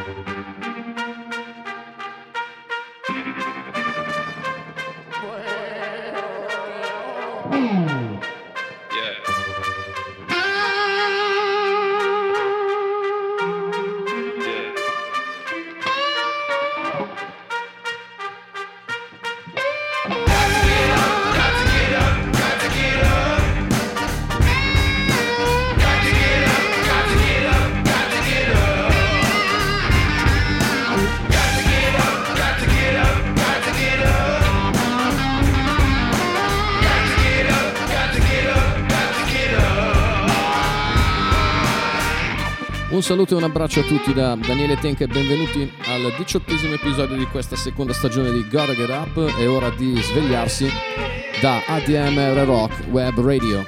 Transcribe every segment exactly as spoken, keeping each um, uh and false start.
Un saluto e un abbraccio a tutti da Daniele Tenca e benvenuti al diciottesimo episodio di questa seconda stagione di Gotta Get Up. È ora di svegliarsi da A D M R Rock Web Radio.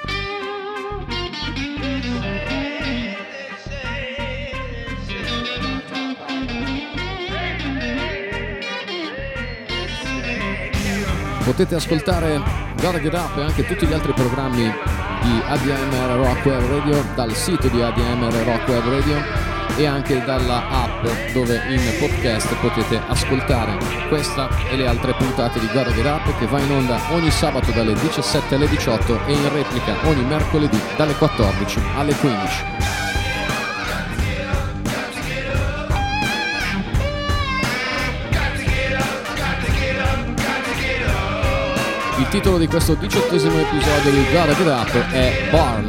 Potete ascoltare Gotta Get Up e anche tutti gli altri programmi di A D M R Rock Web Radio dal sito di A D M R Rock Web Radio e anche dalla app, dove in podcast potete ascoltare questa e le altre puntate di Gotta Get Up, che va in onda ogni sabato dalle diciassette alle diciotto e in replica ogni mercoledì dalle quattordici alle quindici. Il titolo di questo diciottesimo episodio di Gotta Get Up è Barn.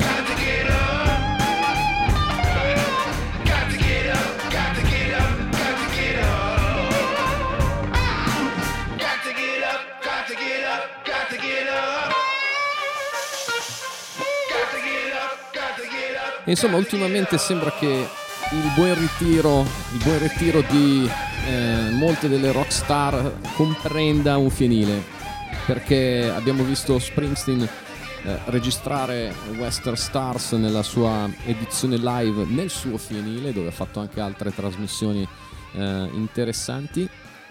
Insomma, ultimamente sembra che il buon ritiro, il buon ritiro di eh, molte delle rockstar comprenda un fienile, perché abbiamo visto Springsteen eh, registrare Western Stars nella sua edizione live nel suo fienile, dove ha fatto anche altre trasmissioni eh, interessanti,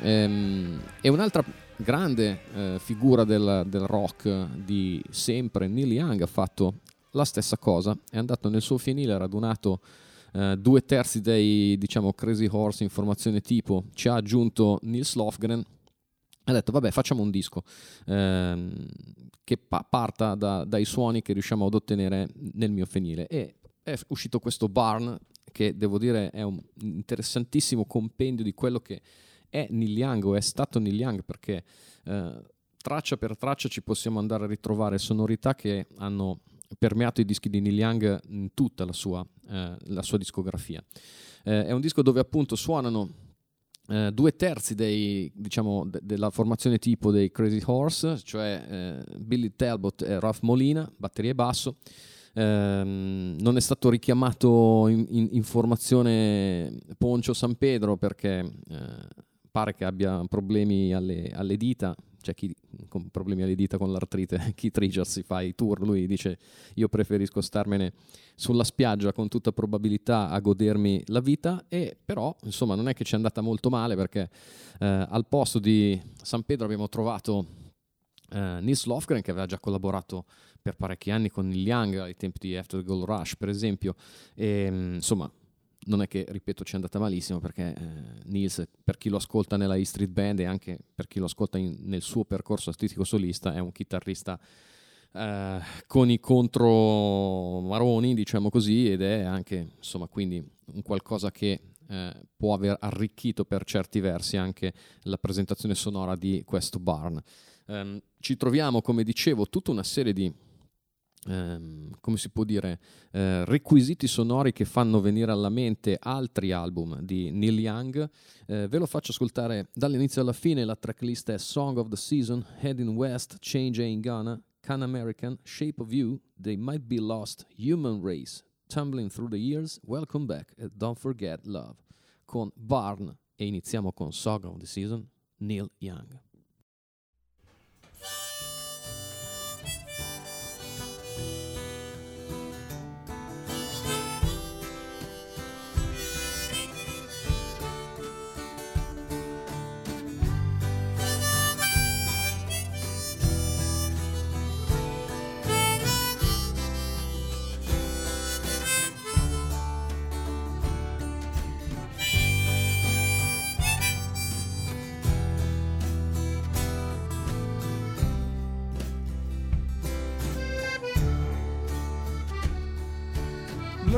ehm, e un'altra grande eh, figura del, del rock di sempre, Neil Young, ha fatto la stessa cosa. È andato nel suo fienile, ha radunato eh, due terzi dei, diciamo, Crazy Horse in formazione tipo, ci ha aggiunto Nils Lofgren. Ha detto vabbè, facciamo un disco ehm, che pa- parta da, dai suoni che riusciamo ad ottenere nel mio fienile, e è uscito questo Barn, che devo dire è un interessantissimo compendio di quello che è Neil Young, o è stato Neil Young, perché eh, traccia per traccia ci possiamo andare a ritrovare sonorità che hanno permeato i dischi di Neil Young in tutta la sua, eh, la sua discografia. Eh, è un disco dove appunto suonano Uh, due terzi dei, diciamo, de- della formazione tipo dei Crazy Horse, cioè uh, Billy Talbot e Ralph Molina, batteria e basso. Uh, non è stato richiamato in, in, in formazione Poncho San Pedro, perché uh, pare che abbia problemi alle, alle dita. C'è chi con problemi alle dita con l'artrite, Keith Richards si fa i tour, lui dice io preferisco starmene sulla spiaggia con tutta probabilità a godermi la vita, e però insomma non è che ci è andata molto male, perché eh, al posto di San Pedro abbiamo trovato eh, Nils Lofgren, che aveva già collaborato per parecchi anni con Neil Young ai tempi di After the Gold Rush per esempio, e insomma non è che, ripeto, ci è andata malissimo, perché eh, Nils, per chi lo ascolta nella E Street Band e anche per chi lo ascolta in, nel suo percorso artistico solista, è un chitarrista eh, con i contromaroni, diciamo così, ed è anche, insomma, quindi un qualcosa che eh, può aver arricchito per certi versi anche la presentazione sonora di questo Barn. Um, ci troviamo, come dicevo, tutta una serie di Um, come si può dire, uh, requisiti sonori che fanno venire alla mente altri album di Neil Young. Uh, ve lo faccio ascoltare dall'inizio alla fine. La tracklist è Song of the Season, Heading West, Change Ain't Gonna, Can American, Shape of You, They Might Be Lost, Human Race, Tumbling Through the Years, Welcome Back e Don't Forget Love, con Barn. E iniziamo con Song of the Season, Neil Young.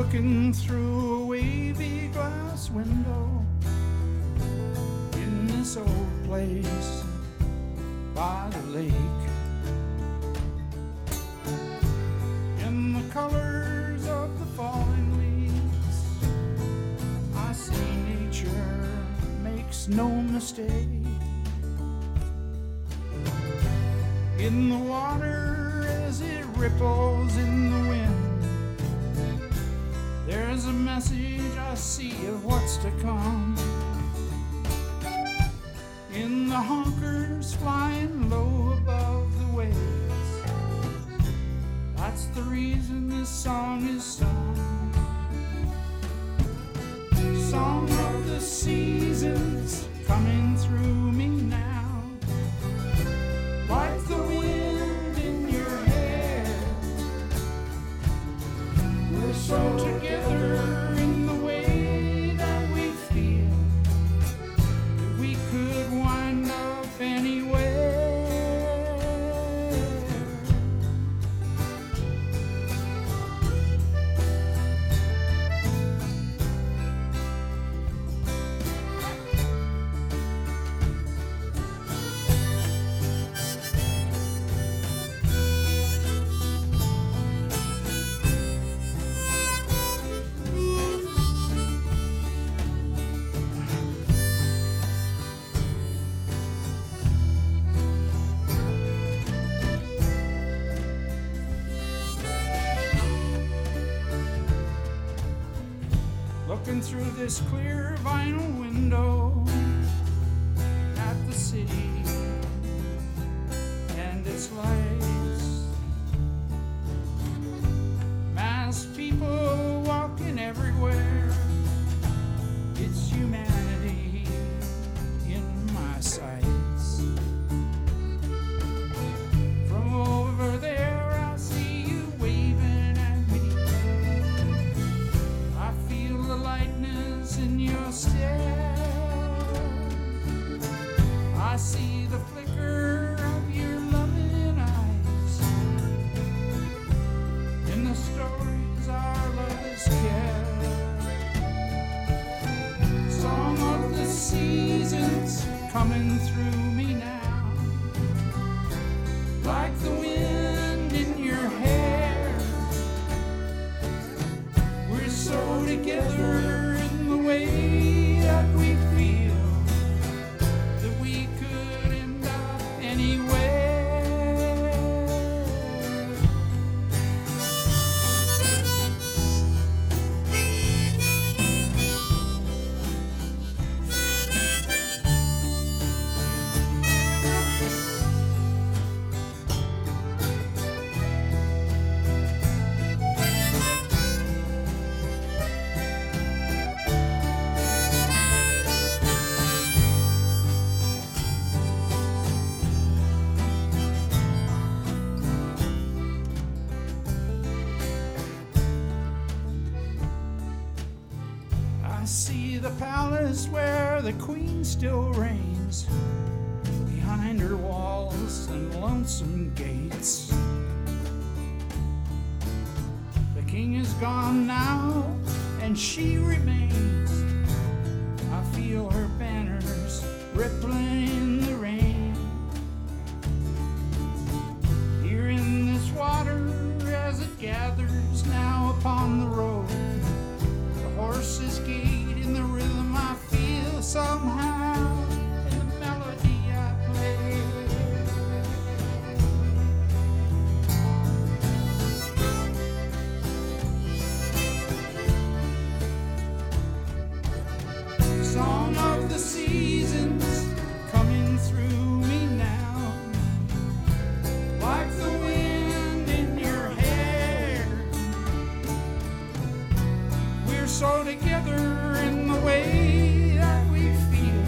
looking through a wavy glass window in this old place by the lake. In the colors of the falling leaves, I see nature makes no mistake. In the water as it ripples in the wind, there's a message I see of what's to come. In the honkers flying low above the waves, that's the reason this song is sung. Song of the seasons coming through me now, like the wind in your hair. We're so together in the way that we feel that we could wind up anywhere. Looking through this clear vinyl window at the city and its lights, masked people walking everywhere, it's humanity in my sights. From over there I see you waving at me, I feel the lightness in your stare, I see the flicker of your loving eyes in the stories our lovers care. Song of the seasons coming through me now, like the wind in your hair. We're so together in the way that we feel that we could end up anywhere. I see the palace where the queen still reigns, behind her walls and lonesome gates. The king is gone now, and she remains. I feel her banners rippling in the rain. Here in this water as it gathers now upon the road, the horses gate in the rhythm I feel somehow in the melody I play. Song of the seasons coming through me now, like the wind in your hair. We're so together in the way that we feel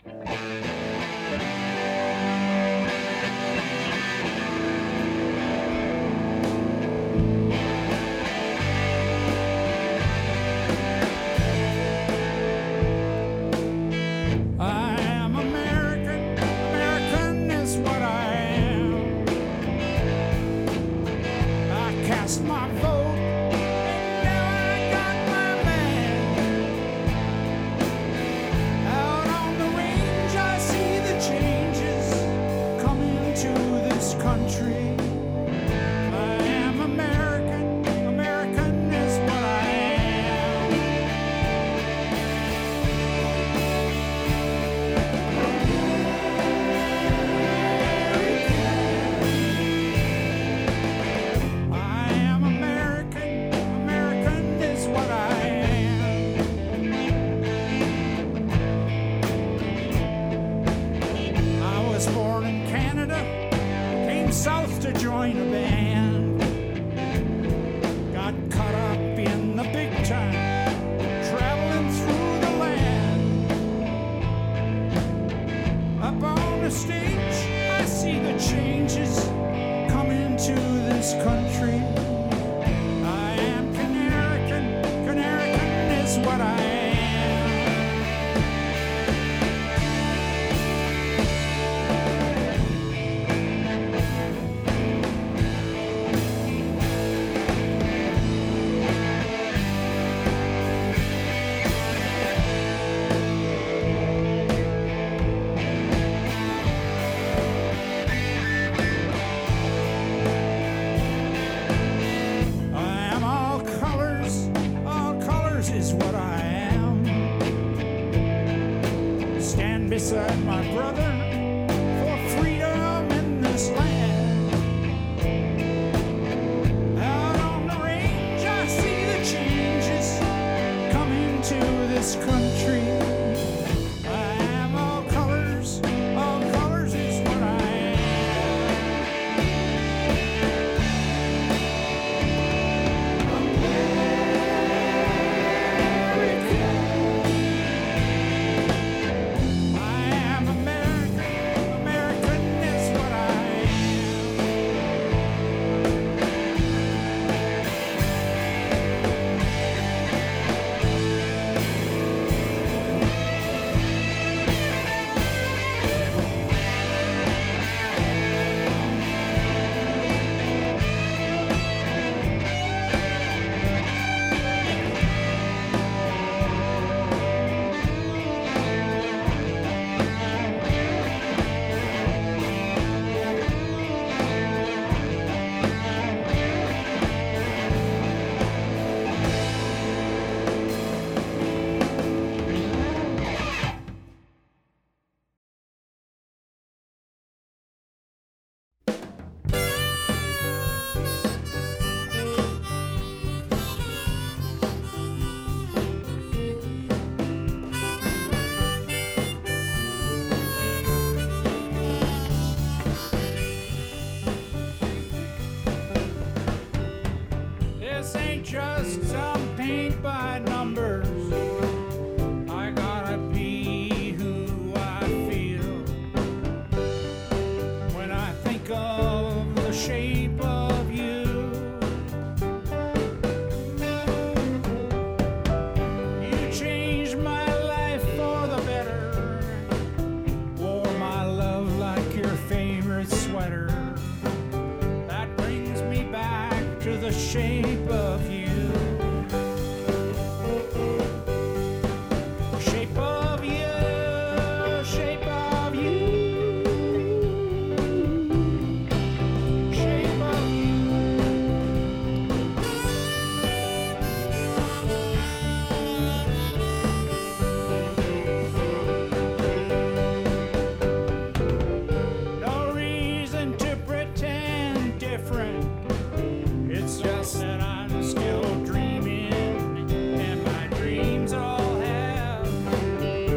Still dreaming, and my dreams all have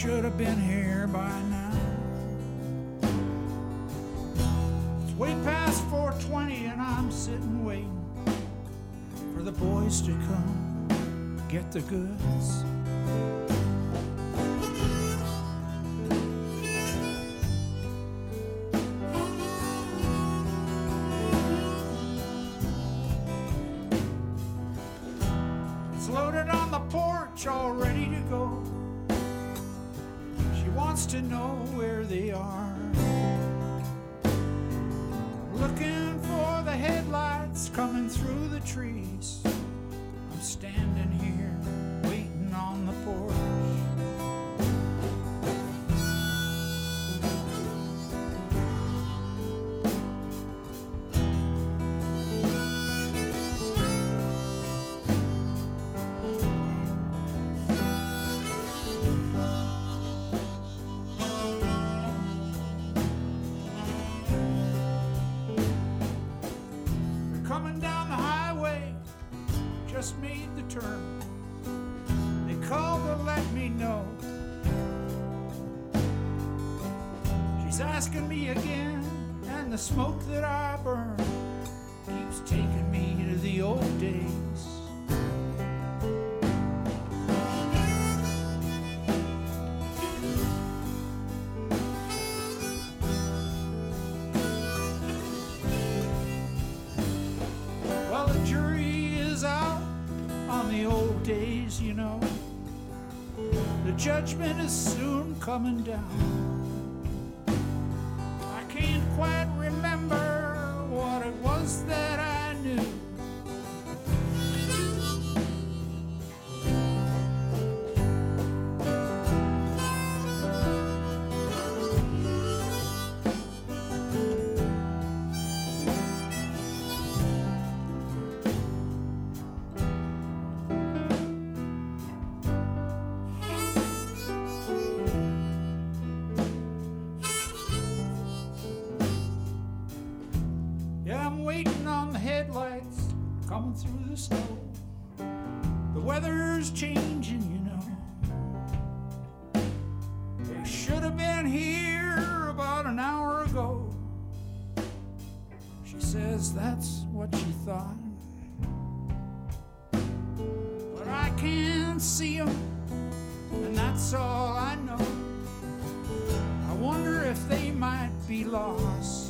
should have been here by now. It's way past four twenty and I'm sitting waiting for the boys to come get the goods. It's loaded on the porch, all ready to go. She wants to know where they are. Looking for the headlights coming through the trees. I'm standing here waiting on the porch. Just made the turn. They called to let me know. She's asking me again, and the smoke that I burn keeps taking me to the old days. Well, the jury is out on the old days, you know. The judgment is soon coming down. I can't quite remember what it was that I knew. Waiting on the headlights coming through the snow. The weather's changing, you know. They should have been here about an hour ago. She says that's what she thought, but I can't see them, and that's all I know. I wonder if they might be lost.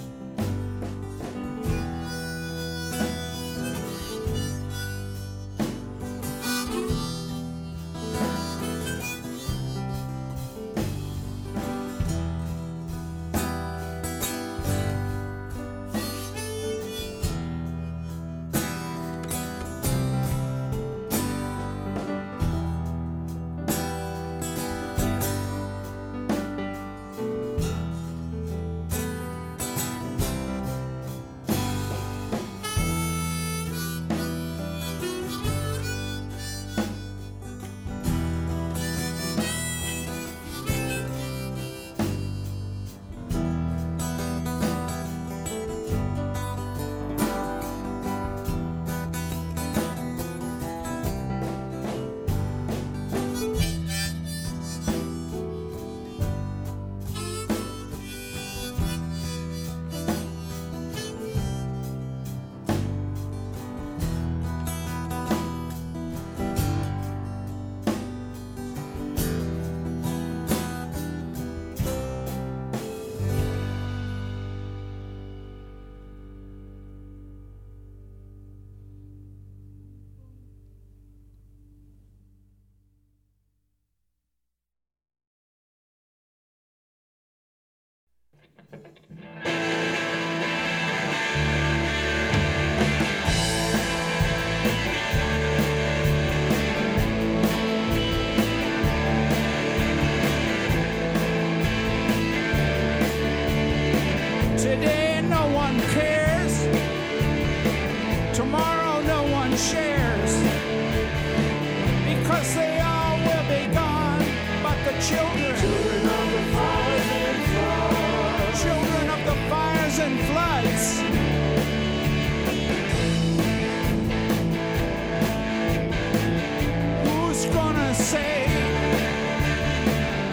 Today no one cares, tomorrow no one shares, because they all will be gone, but the children, children of the fires and floods, children of the fires and floods, who's gonna say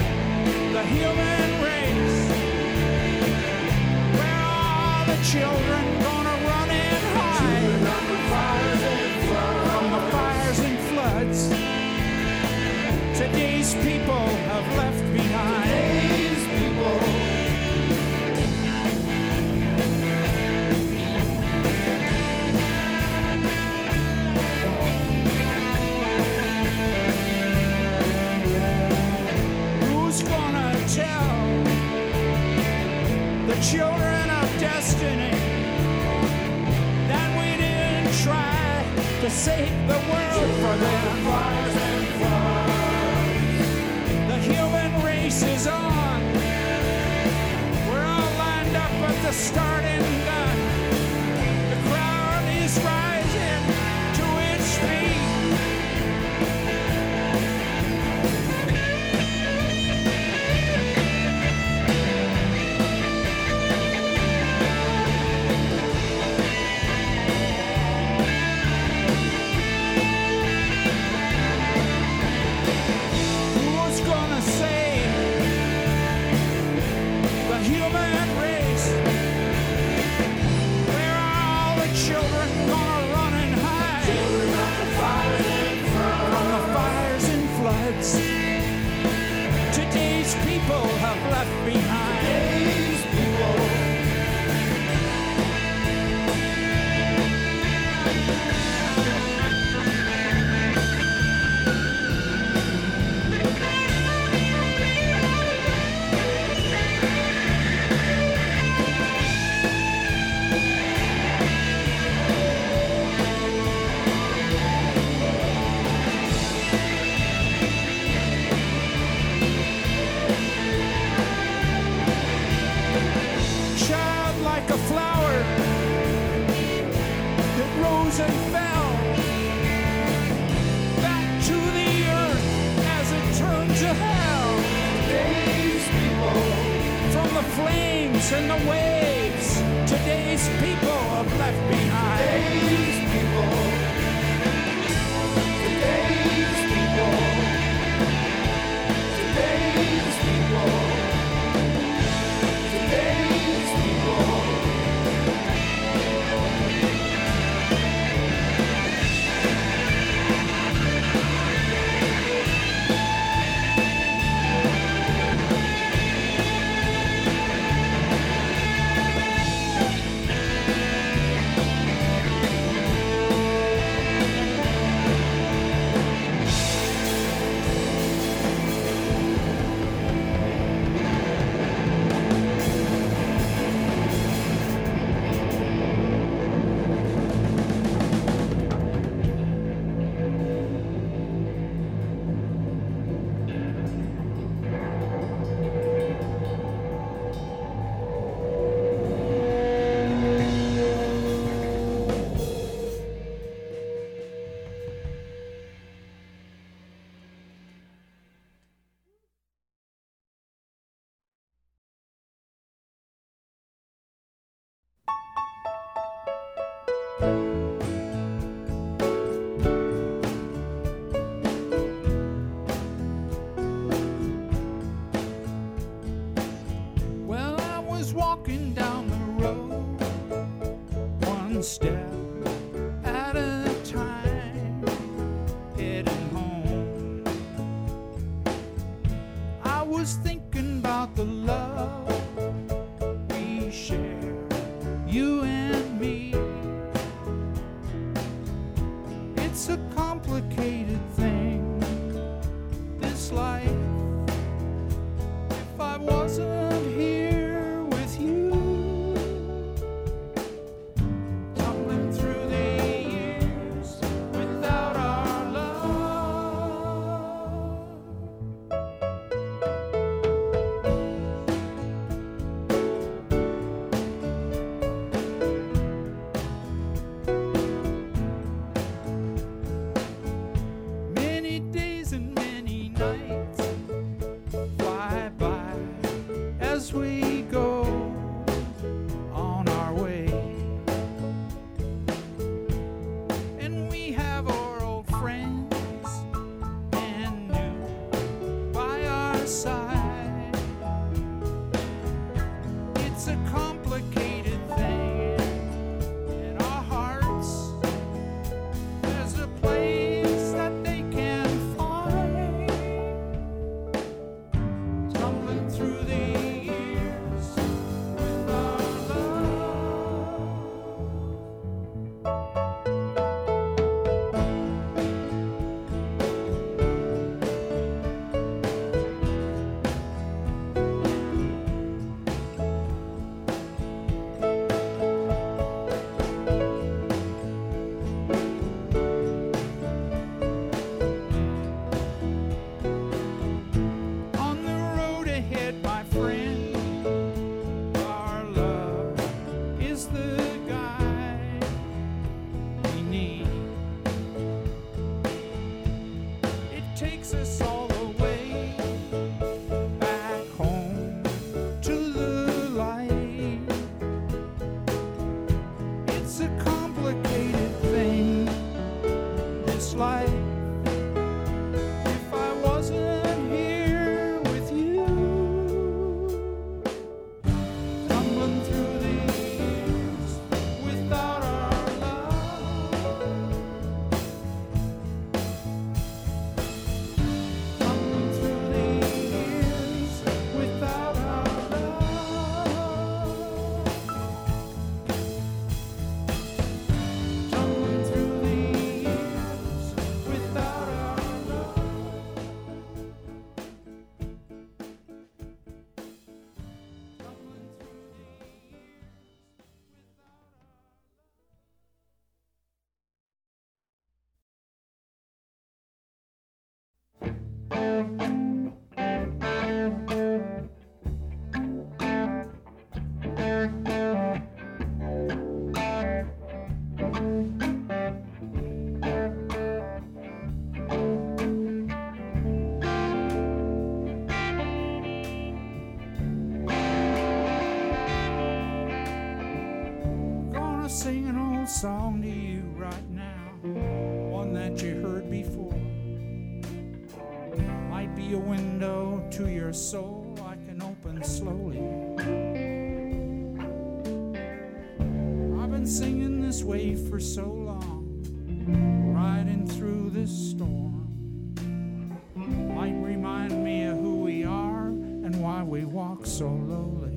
Today's people have left behind. Today's people. Who's gonna tell the children of destiny that we didn't try to save the world for them? The human race is on. We're all lined up at the starting gun. The crowd is rising to its feet. Today's people have left behind. Today's people. And fell back to the earth as it turned to hell. Today's people. From the flames and the waves, today's people have left behind. Today's people. Today's people. Today's people. Today's people. Walking down the road, one step at a time, heading home. I was thinking about the love we share, you and me. It's a complicated thing, this life. If I wasn't here, takes us all the way back home to the light. It's a complicated thing, this life. If I wasn't here with you, tumbling through the years without our love, tumbling through the years without our love, tumbling through the years without our love. Gonna sing an old song to you right now, one that you heard before. Might be a window to your soul I can open slowly. I've been singing this way for so long, riding through this storm. Might remind me of who we are and why we walk so lowly.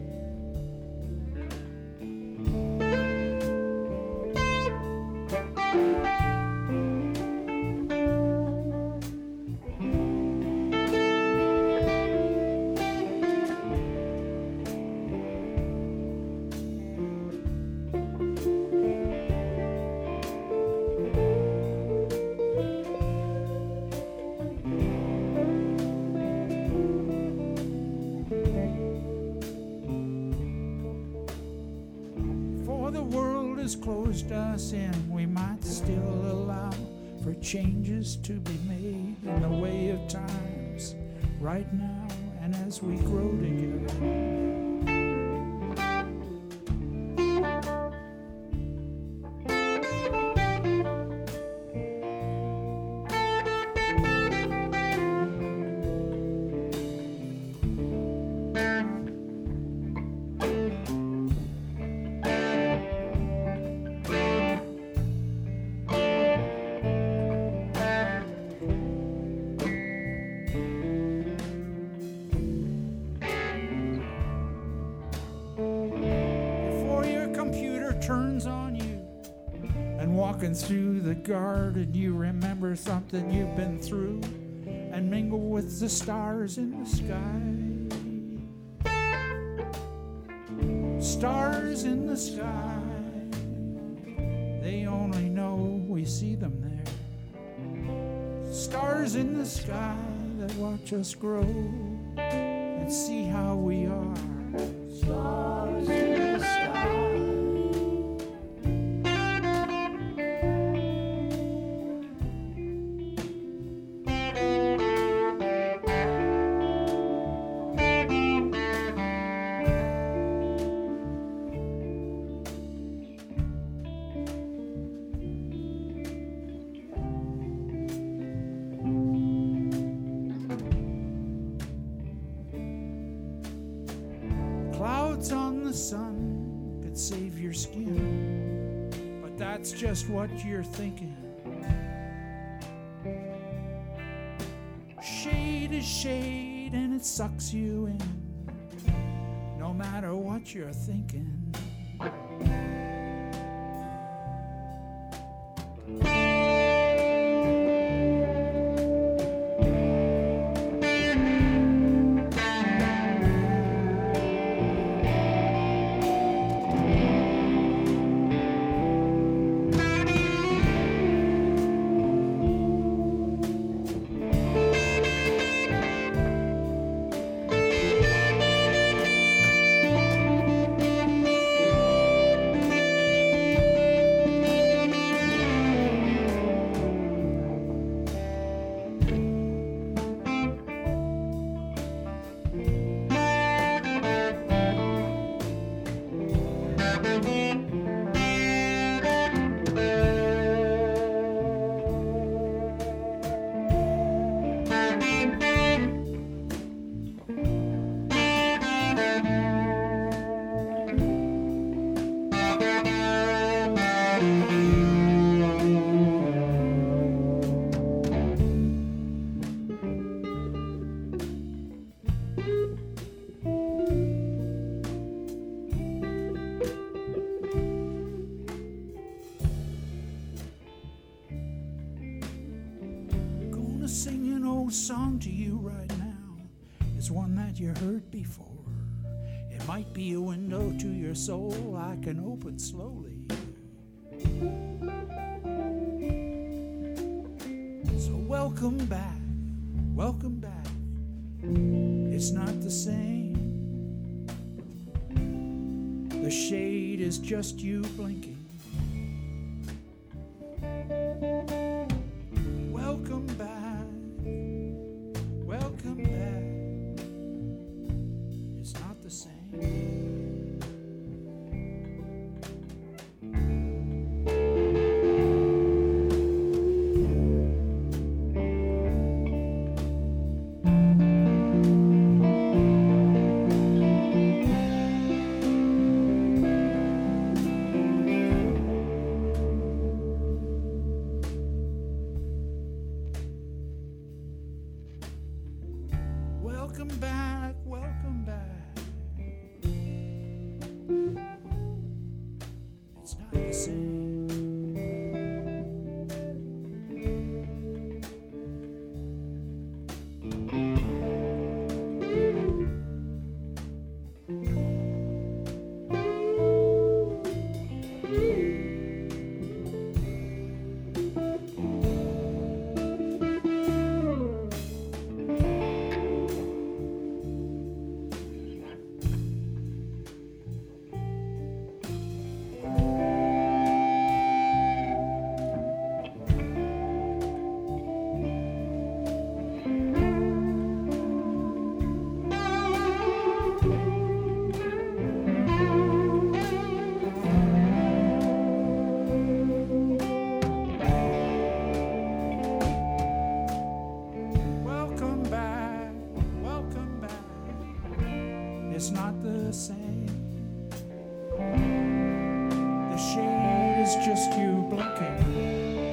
Before the world has closed us in, we might still allow for changes to be made in the way of times right now and as we grow together. Before your computer turns on you and walking through the garden, you remember something you've been through and mingle with the stars in the sky. Stars in the sky, they only know we see them there. Stars in the sky that watch us grow and see how we are. Stars in the sky. Clouds on the sun could save your skin, but that's just what you're thinking. Shade is shade and it sucks you in, no matter what you're thinking. sing an old song to you right now. It's one that you heard before. It might be a window to your soul I can open slowly. So welcome back, welcome back. It's not the same. The shade is just you blinking. Welcome back, welcome back. It's not the same. Welcome back, welcome back. It's not the same. Welcome back, welcome back. It's not the same. The shade is just you blinking.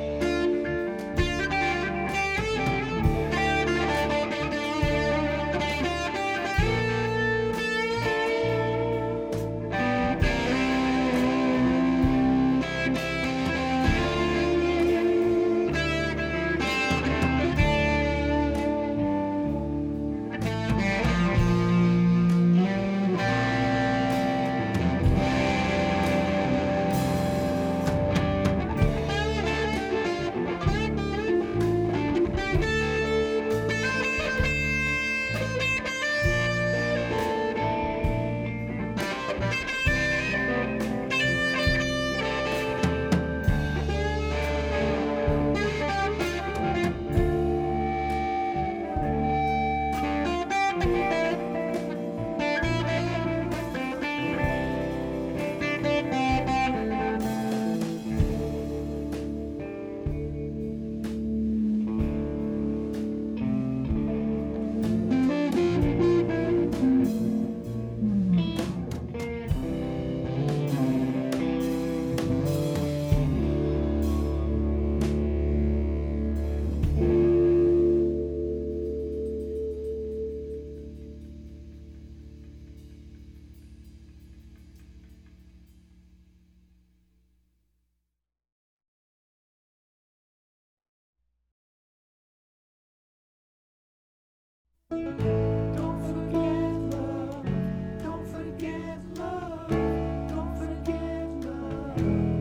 Don't forget love, don't forget love, don't forget love.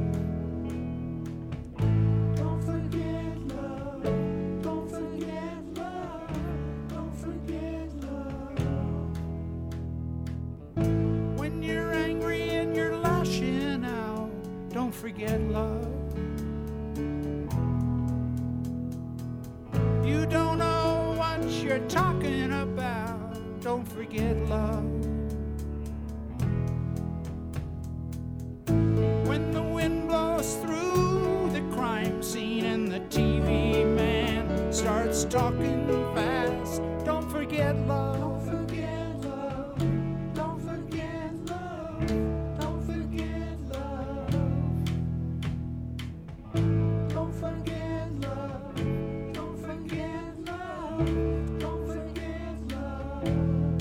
Don't forget love, don't forget love, don't forget love. When you're angry and you're lashing out, don't forget love. You don't know what you're talking about, don't forget love. When the wind blows through the crime scene and the T V man starts talking fast, don't forget love. Don't forget love, don't forget love, don't forget love. Don't forget love, don't forget love, don't forget love.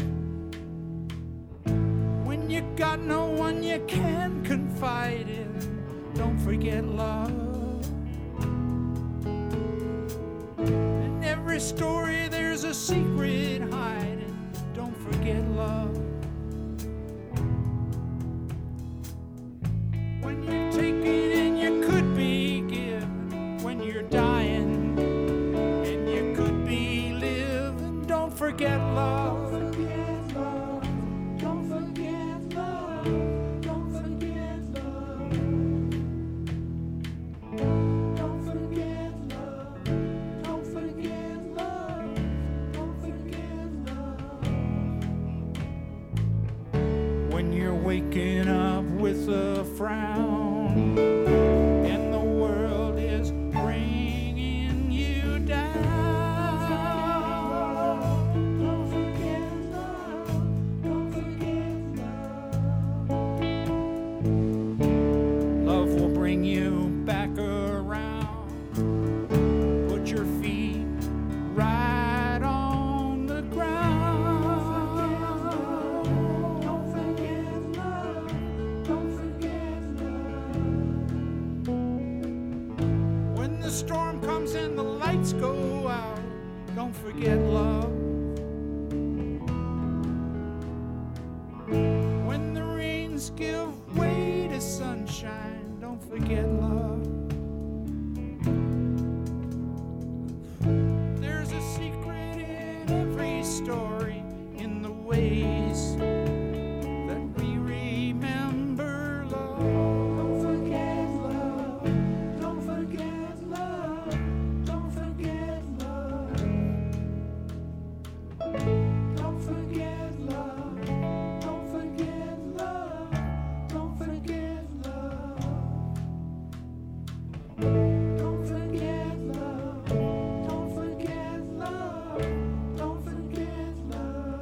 When you got no one you can confide in, don't forget love. And every every story there's a secret hiding. Don't forget love. When you're taking and you could be given. When you're dying and you could be living. Don't forget love. Waking up with a frown and the world is bringing you down. Don't forget love. Don't forget love. Love will bring you back around. Put your feet right on the ground. The storm comes and the lights go out. Don't forget love. When the rains give way to sunshine, don't forget love. There's a secret in every story, in the ways that we remember love. Don't forget love. Don't forget love. Don't forget love. Don't forget love. Don't forget love. Don't forget love. Don't forget love. Don't forget love. Don't forget love.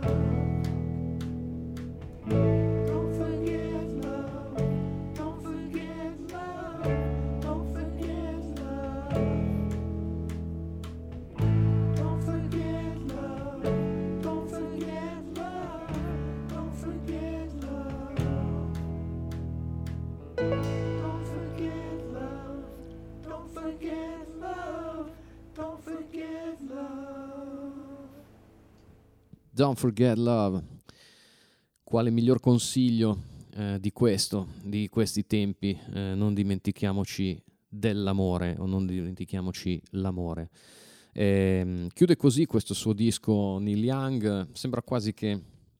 Don't forget love. Don't forget love. Don't forget love. Don't forget love. Don't forget love. Don't forget love. Don't forget love. Don't forget love. Don't forget love. Don't forget love. Quale miglior consiglio eh, di questo, di questi tempi? Eh, non dimentichiamoci dell'amore, o non dimentichiamoci l'amore. Eh, chiude così questo suo disco Neil Young. Sembra quasi che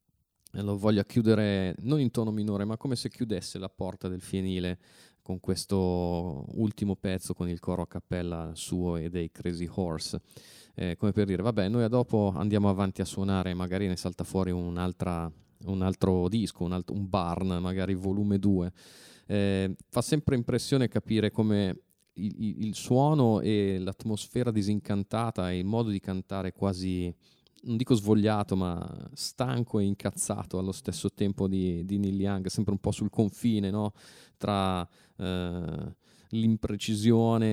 lo voglia chiudere non in tono minore, ma come se chiudesse la porta del fienile con questo ultimo pezzo, con il coro a cappella suo e dei Crazy Horse. Eh, come per dire, vabbè, noi a dopo andiamo avanti a suonare, magari ne salta fuori un'altra, un altro disco, un, alt- un Barn, magari volume due. Eh, fa sempre impressione capire come il, il suono e l'atmosfera disincantata e il modo di cantare quasi, non dico svogliato, ma stanco e incazzato allo stesso tempo di, di Neil Young, sempre un po' sul confine, no? Tra eh, l'imprecisione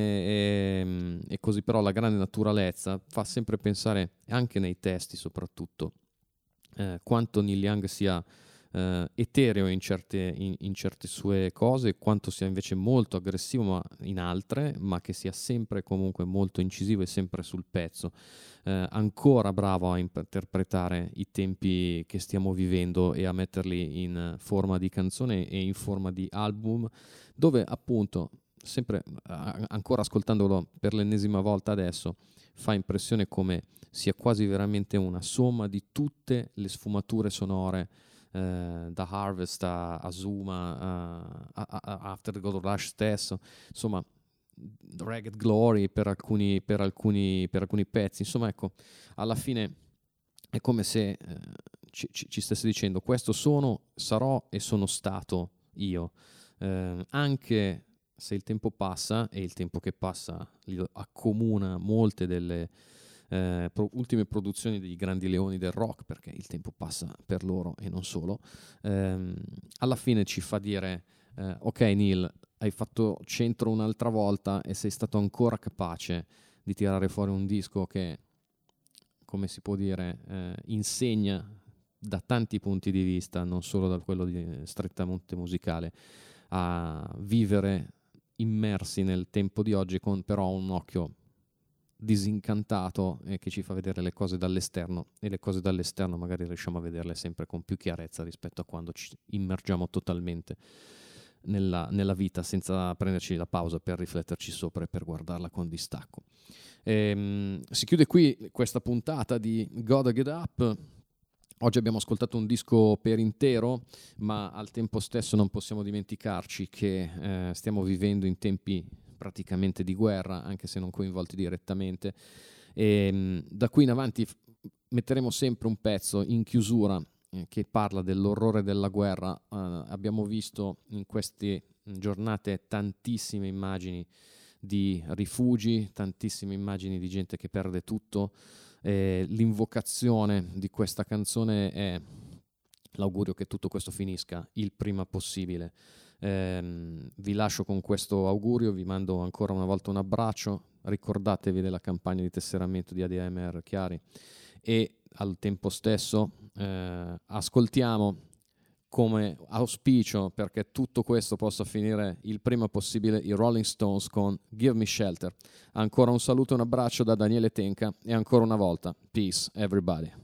e, e così, però la grande naturalezza fa sempre pensare, anche nei testi soprattutto, eh, quanto Neil Young sia eh, etereo in certe, in, in certe sue cose, quanto sia invece molto aggressivo ma in altre, ma che sia sempre comunque molto incisivo e sempre sul pezzo. Eh, ancora bravo a interpretare i tempi che stiamo vivendo e a metterli in forma di canzone e in forma di album, dove appunto, sempre a- ancora ascoltandolo per l'ennesima volta adesso, fa impressione come sia quasi veramente una somma di tutte le sfumature sonore, eh, da Harvest a Azuma, a, a, a After the Gold Rush stesso, insomma Ragged Glory per alcuni, per alcuni, per alcuni pezzi. Insomma, ecco, alla fine è come se eh, ci, ci stesse dicendo: questo sono, sarò e sono stato io, eh, anche se il tempo passa, e il tempo che passa accomuna molte delle eh, pro- ultime produzioni dei grandi leoni del rock, perché il tempo passa per loro e non solo. ehm, alla fine ci fa dire eh, ok Neil, hai fatto centro un'altra volta e sei stato ancora capace di tirare fuori un disco che, come si può dire, eh, insegna da tanti punti di vista, non solo da quello di, strettamente musicale, a vivere immersi nel tempo di oggi, con però un occhio disincantato e che ci fa vedere le cose dall'esterno, e le cose dall'esterno magari riusciamo a vederle sempre con più chiarezza rispetto a quando ci immergiamo totalmente nella, nella vita senza prenderci la pausa per rifletterci sopra e per guardarla con distacco. Ehm, si chiude qui questa puntata di Gotta Get Up. Oggi abbiamo ascoltato un disco per intero, ma al tempo stesso non possiamo dimenticarci che eh, stiamo vivendo in tempi praticamente di guerra, anche se non coinvolti direttamente, e mh, da qui in avanti f- metteremo sempre un pezzo in chiusura eh, che parla dell'orrore della guerra. Uh, abbiamo visto in queste giornate tantissime immagini di rifugi, tantissime immagini di gente che perde tutto. Eh, l'invocazione di questa canzone è l'augurio che tutto questo finisca il prima possibile. Eh, vi lascio con questo augurio, vi mando ancora una volta un abbraccio, ricordatevi della campagna di tesseramento di A D M R Chiari e al tempo stesso eh, ascoltiamo come auspicio, perché tutto questo possa finire il prima possibile, i Rolling Stones con Give Me Shelter. Ancora un saluto e un abbraccio da Daniele Tenca e ancora una volta, peace everybody.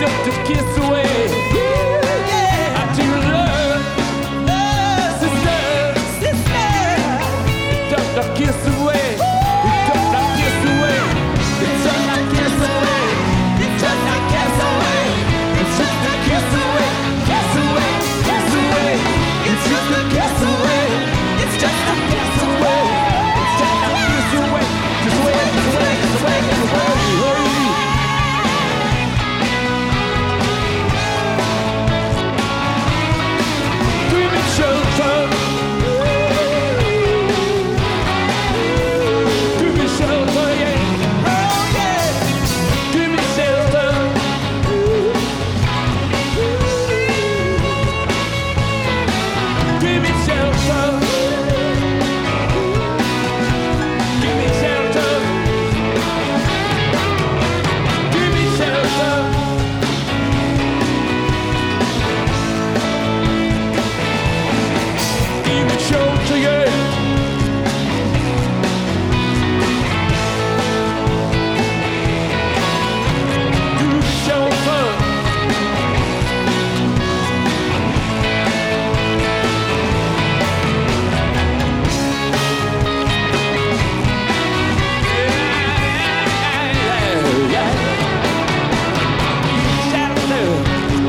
just a kiss away. Yeah. I do love, love, sister, sister. Just a kiss away. Just a kiss away. It's just a kiss away. It's just a kiss away. It's just a kiss away. Kiss away. Kiss away. It's just a kiss away. It's just a kiss away. It's just a kiss away. Just away. Just away. Just away. Just away. Give me shelter. Give me shelter, yeah. Oh yeah. Give me shelter. Give me shelter. Give me shelter. Give me shelter. Give me shelter, yeah. Give me shelter. Yeah, yeah. Shelter.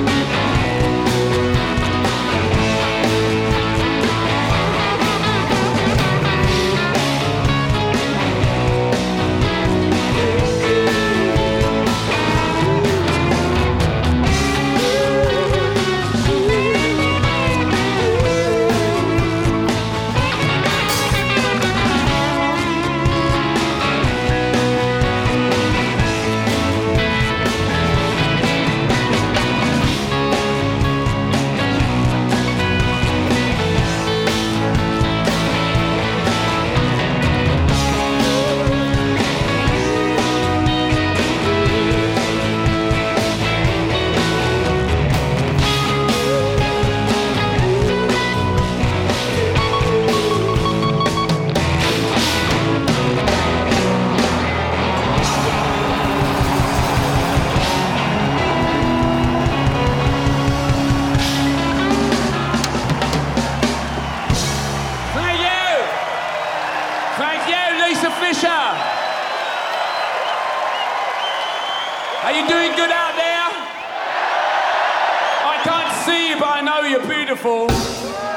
Thank you. Thank you, Lisa Fisher. Are you doing good out there? I can't see you, but I know you're beautiful.